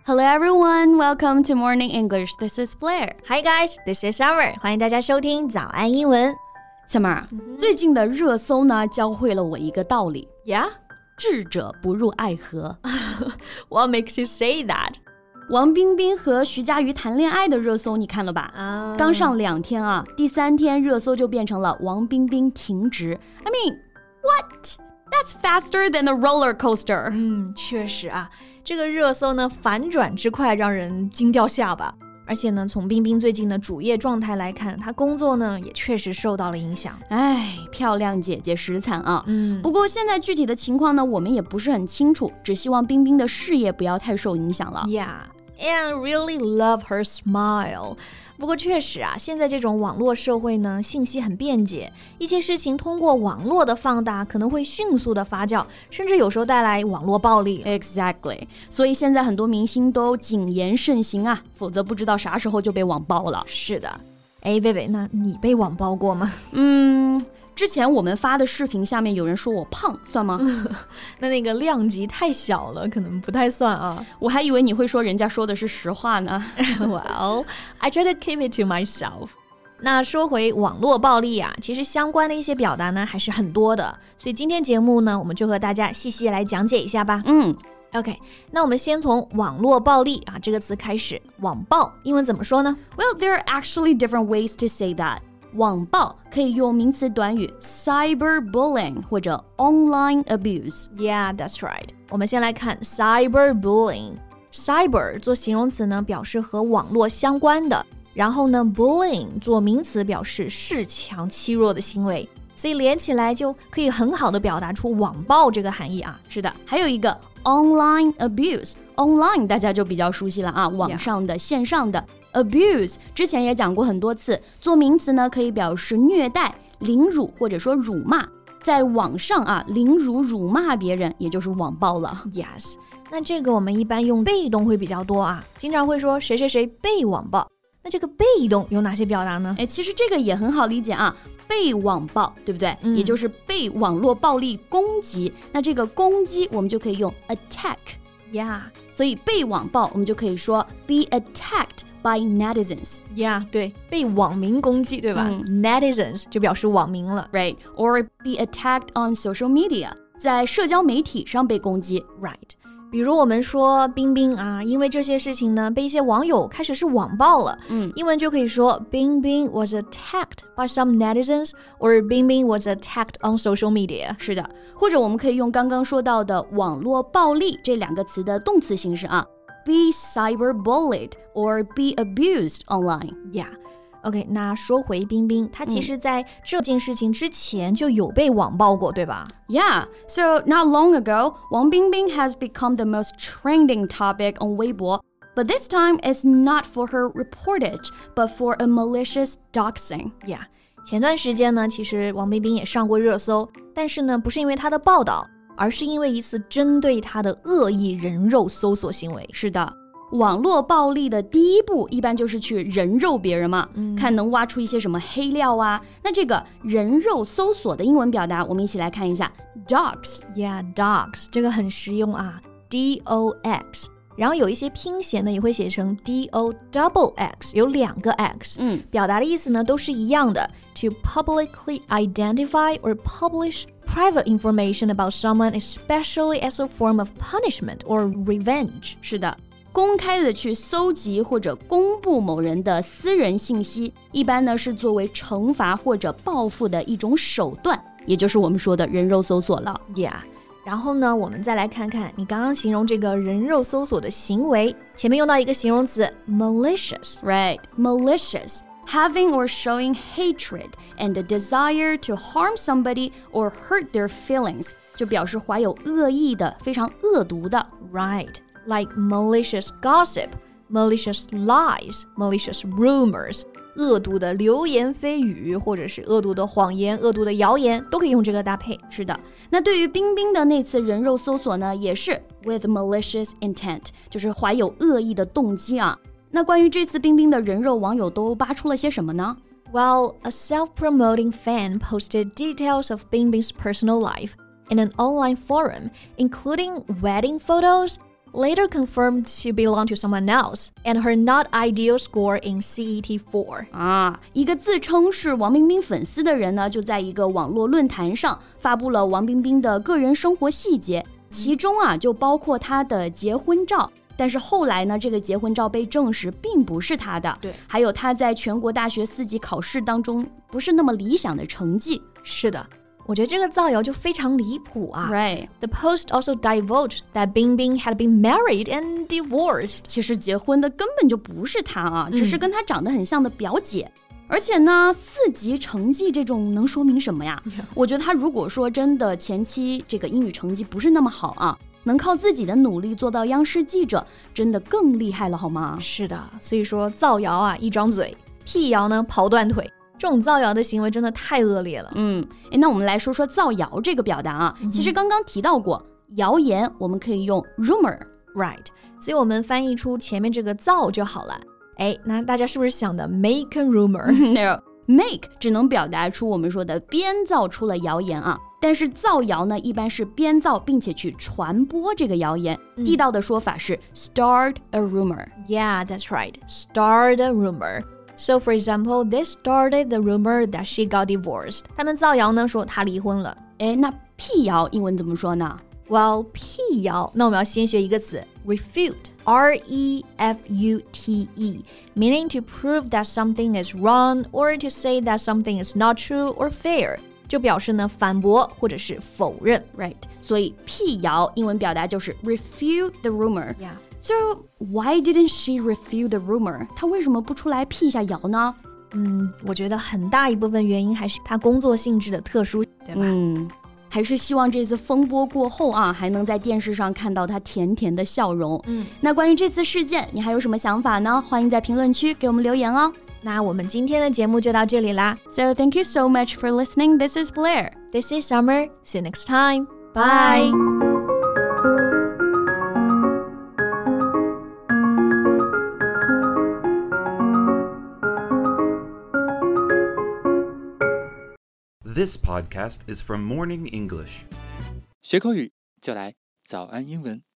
Hello everyone, welcome to Morning English. This is Blair. Hi guys, this is Summer. 欢迎大家收听早安英文。 Summer, 最近的热搜呢，教会了我一个道理。 Yeah? 智者不入爱河。 What makes you say that? 王冰冰和徐嘉余谈恋爱的热搜你看了吧？刚上2天啊，第3天热搜就变成了王冰冰停职。I mean, what?That's faster than a roller coaster. 确实啊，这个热搜呢反转之快，让人惊掉下巴。而且呢，从冰冰最近的主业状态来看，她工作呢也确实受到了影响。 哎，漂亮姐姐实惨啊。不过现在具体的情况呢，我们也不是很清楚，只希望冰冰的事业不要太受影响了。 Yeah.And really love her smile. 不过确实啊，现在这种网络社会呢，信息很便捷，一些事情通过网络的放大，可能会迅速的发酵，甚至有时候带来网络暴力。 Exactly. 所以现在很多明星都谨言慎行啊，否则不知道啥时候就被网暴了。 是的。哎，贝贝，那你被网暴过吗？ 之前我们发的视频下面有人说我胖，算吗？ 那个量级太小了，可能不太算啊。 我还以为你会说人家说的是实话呢。 Well, I try to keep it to myself. 那说回网络暴力啊，其实相关的一些表达呢还是很多的，所以今天节目呢，我们就和大家细细来讲解一下吧。OK, 那我们先从网络暴力啊这个词开始。网暴英文怎么说呢？ Well, there are actually different ways to say that. 网暴可以用名词短语 cyberbullying 或者 online abuse. Yeah, that's right. 我们先来看 cyberbullying. Cyber 做形容词呢，表示和网络相关的，然后呢 bullying 做名词表示恃强欺弱的行为，所以连起来就可以很好的表达出网暴这个含义啊。 是的，还有一个 online abuse. Online 大家就比较熟悉了啊，网上的、线上的。Abuse 之前也讲过很多次，做名词呢可以表示虐待、凌辱或者说辱骂。在网上啊，凌辱、辱骂别人，也就是网暴了。 Yes， 那这个我们一般用被动会比较多啊，经常会说谁谁谁被网暴。那这个被动有哪些表达呢？ 其实这个也很好理解啊，被网暴，对不对？也就是被网络暴力攻击。那这个攻击我们就可以用 attack。Yeah， 所以被网暴我们就可以说 be attacked by netizens. Yeah, 对，被网民攻击，对吧？Netizens 就表示网民了。 Right, or be attacked on social media. 在社交媒体上被攻击。 Right. 比如我们说冰冰啊，因为这些事情呢，被一些网友开始是网暴了。英文就可以说 冰冰 was attacked by some netizens or 冰冰 was attacked on social media. 是的，或者我们可以用刚刚说到的网络暴力这2个词的动词形式啊。Be cyberbullied or be abused online. Yeah.OK, 那说回冰冰，她其实在这件事情之前就有被网暴过，对吧？ Yeah, so not long ago, Wang Bingbing has become the most trending topic on Weibo. But this time, it's not for her reportage, but for a malicious doxing. Yeah, 前段时间呢，其实王冰冰也上过热搜，但是呢，不是因为她的报道，而是因为一次针对她的恶意人肉搜索行为。 是的。网络暴力的第一步一般就是去人肉别人嘛，看能挖出一些什么黑料啊。那这个人肉搜索的英文表达我们一起来看一下 dox. Yeah, dox 这个很实用啊 D-O-X 然后有一些拼写呢也会写成 D-O-double-X 有2个 X 表达的意思呢都是一样的 To publicly identify or publish private information about someone especially as a form of punishment or revenge 是的公开的去搜集或者公布某人的私人信息，一般呢是作为惩罚或者报复的一种手段，也就是我们说的人肉搜索了。 Yeah， 然后呢，我们再来看看你刚刚形容这个人肉搜索的行为，前面用到一个形容词 malicious。Right, malicious. Having or showing hatred and a desire to harm somebody or hurt their feelings 就表示怀有恶意的，非常恶毒的。 Right.Like malicious gossip, malicious lies, malicious rumors 恶毒的流言蜚语或者是恶毒的谎言恶毒的谣言都可以用这个搭配是的那对于冰冰的那次人肉搜索呢也是 with malicious intent 就是怀有恶意的动机啊那关于这次冰冰的人肉网友都扒出了些什么呢 Well, a self-promoting fan posted details of Bingbing's personal life in an online forum, including wedding photos, later confirmed to belong to someone else and her not ideal score in CET4. 一个自称是王冰冰粉丝的人呢，就在一个网络论坛上发布了王冰冰的个人生活细节，其中就包括她的结婚照。但是后来呢，这个结婚照被证实并不是他的。 对， 还有他在全国大学4级考试当中不是那么理想的成绩。 是的，我觉得这个造谣就非常离谱啊。 Right. The post also divulged that Bingbing had been married and divorced. 其实结婚的根本就不是他只是跟他长得很像的表姐。而且呢，4级成绩这种能说明什么呀？我觉得他如果说真的前期这个英语成绩不是那么好能靠自己的努力做到央视记者，真的更厉害了好吗？ 是的，所以说造谣一张嘴，辟谣呢跑断腿，这种造谣的行为真的太恶劣了。 那我们来说说造谣这个表达其实刚刚提到过，谣言我们可以用 rumor， right， 所以我们翻译出前面这个造就好了。那大家是不是想的 make a rumor？ No， make 只能表达出我们说的编造出了谣言但是造谣呢，一般是编造并且去传播这个谣言。地道的说法是 start a rumor. Yeah, that's right. Start a rumor. So, for example, they started the rumor that she got divorced. 他们造谣呢，说她离婚了。 那辟谣英文怎么说呢？ Well, 辟谣，那我们要先学一个词 refute. R-E-F-U-T-E, meaning to prove that something is wrong or to say that something is not true or fair.就表示呢反驳或者是否认 Right， 所以辟谣英文表达就是 refute the rumor. Yeah. So why didn't she refute the rumor? 她为什么不出来辟一下谣呢？ 我觉得很大一部分原因还是她工作性质的特殊，对吧？ 还是希望这次风波过后还能在电视上看到她甜甜的笑容。那关于这次事件，你还有什么想法呢？欢迎在评论区给我们留言哦。 那我们今天的节目就到这里啦。 So thank you so much for listening. This is Blair. This is Summer. See you next time. Bye. This podcast is from Morning English. 学口语就来早安英文。